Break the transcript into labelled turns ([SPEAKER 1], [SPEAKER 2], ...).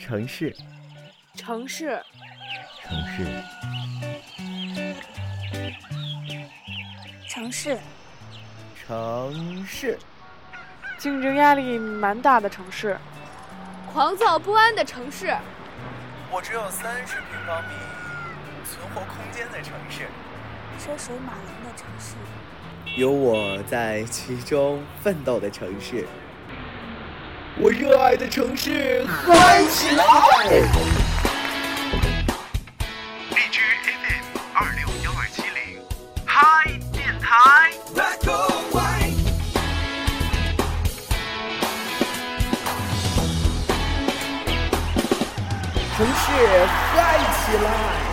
[SPEAKER 1] 城市，
[SPEAKER 2] 城市，
[SPEAKER 1] 城市，
[SPEAKER 3] 城市，
[SPEAKER 1] 城市，
[SPEAKER 2] 竞争压力蛮大的城市，
[SPEAKER 4] 狂躁不安的城市，
[SPEAKER 5] 我只有30平方米存活空间的城市，
[SPEAKER 3] 车水马龙的城市，
[SPEAKER 1] 有我在其中奋斗的城市，我热爱的城市，嗨起来！
[SPEAKER 6] 荔枝 FM 26170，嗨电台。
[SPEAKER 1] 城市嗨起来！